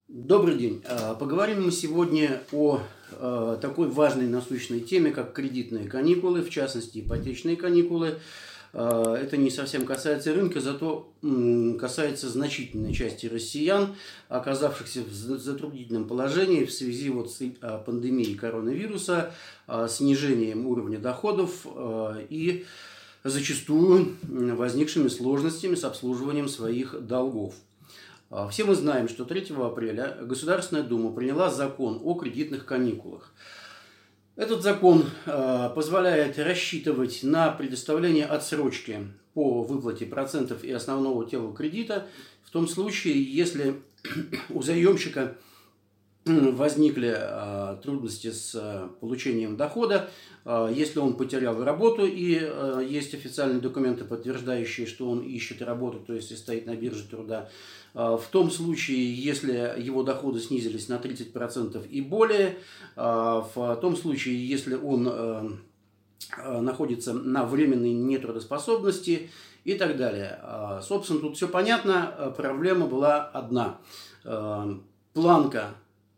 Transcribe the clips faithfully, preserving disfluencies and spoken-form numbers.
Добрый день. А, Поговорим мы сегодня о э, такой важной насущной теме, как кредитные каникулы, в частности ипотечные каникулы. А, Это не совсем касается рынка, зато м, касается значительной части россиян, оказавшихся в за- затруднительном положении в связи вот с а, пандемией коронавируса, а, снижением уровня доходов а, и зачастую м, возникшими сложностями с обслуживанием своих долгов. А, Все мы знаем, что третьего апреля Государственная Дума приняла закон о кредитных каникулах. Этот закон э, позволяет рассчитывать на предоставление отсрочки по выплате процентов и основного тела кредита в том случае, если у заемщика возникли э, трудности с э, получением дохода, э, если он потерял работу и э, есть официальные документы, подтверждающие, что он ищет работу, то есть и стоит на бирже труда. Э, в том случае, если его доходы снизились на тридцать процентов и более, э, в том случае, если он э, э, находится на временной нетрудоспособности и так далее. Э, собственно, тут все понятно, э, проблема была одна. Э, планка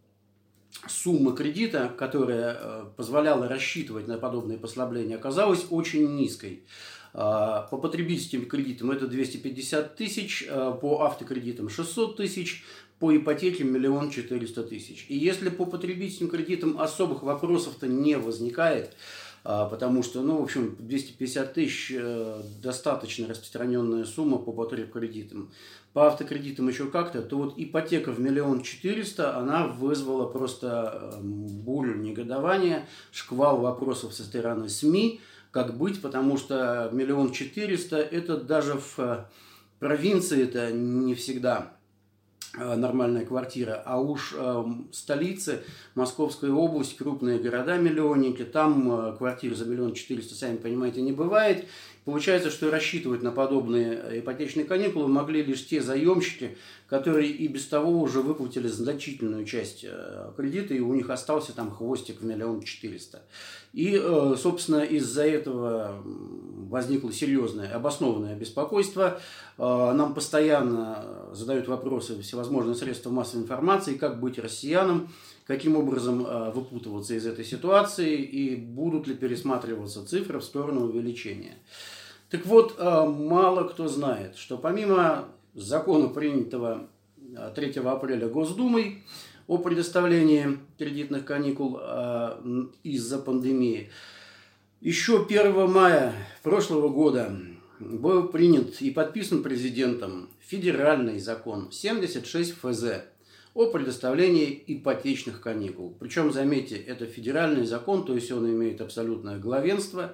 сумма кредита, которая э, позволяла рассчитывать на подобные послабления, оказалась очень низкой. Э, По потребительским кредитам это двести пятьдесят тысяч, э, по автокредитам шестьсот тысяч, по ипотеке миллион четыреста тысяч. И если по потребительским кредитам особых вопросов-то не возникает, э, потому что, ну, в общем, двести пятьдесят тысяч э, достаточно распространенная сумма по потребкредитам. По автокредитам еще как-то, то вот ипотека в миллион четыреста, она вызвала просто бурю негодования, шквал вопросов со стороны СМИ, как быть, потому что миллион четыреста, это даже в провинции это не всегда нормальная квартира, а уж э, столицы, Московская область, крупные города-миллионники, там э, квартир за миллион четыреста, сами понимаете, не бывает. Получается, что рассчитывать на подобные ипотечные каникулы могли лишь те заемщики, которые и без того уже выплатили значительную часть э, кредита, и у них остался там хвостик в миллион четыреста. И, э, собственно, из-за этого возникло серьезное обоснованное беспокойство. Э, нам постоянно задают вопросы всевозможные средства массовой информации, как быть россиянам, каким образом э, выпутываться из этой ситуации и будут ли пересматриваться цифры в сторону увеличения. Так вот, э, мало кто знает, что помимо закона, принятого третьего апреля Госдумой о предоставлении кредитных каникул э, из-за пандемии, еще первого мая прошлого года был принят и подписан президентом федеральный закон семьдесят шесть эф зэ о предоставлении ипотечных каникул. Причем, заметьте, это федеральный закон, то есть он имеет абсолютное главенство.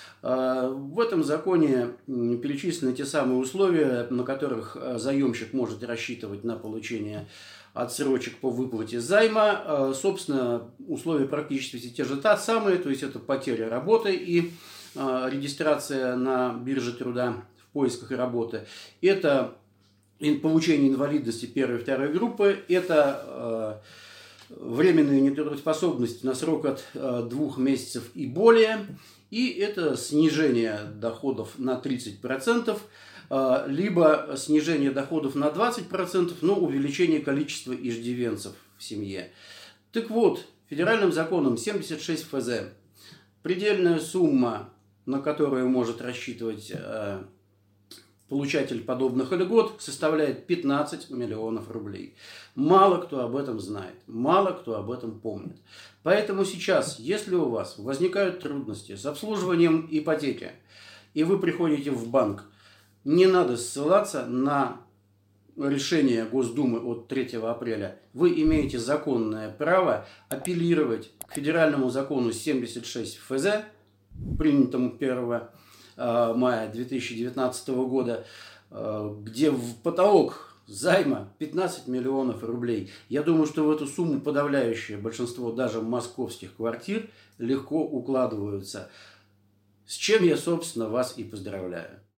В этом законе перечислены те самые условия, на которых заемщик может рассчитывать на получение отсрочек по выплате займа. Собственно, условия практически те же та самые, то есть это потеря работы и регистрация на бирже труда в поисках работы. Это получение инвалидности первой и второй группы, это э, временная нетрудоспособность на срок от э, двух месяцев и более, и это снижение доходов на тридцать процентов, э, либо снижение доходов на двадцать процентов, но увеличение количества иждивенцев в семье. Так вот, федеральным законом семьдесят шесть эф зэ предельная сумма, на которую может рассчитывать э, получатель подобных льгот, составляет пятнадцать миллионов рублей. Мало кто об этом знает, мало кто об этом помнит. Поэтому сейчас, если у вас возникают трудности с обслуживанием ипотеки, и вы приходите в банк, не надо ссылаться на решение Госдумы от третьего апреля. Вы имеете законное право апеллировать к федеральному закону семьдесят шесть эф зэ, принятому первого мая две тысячи девятнадцатого года, где в потолок займа пятнадцать миллионов рублей. Я думаю, что в эту сумму подавляющее большинство даже московских квартир легко укладываются. С чем я, собственно, вас и поздравляю.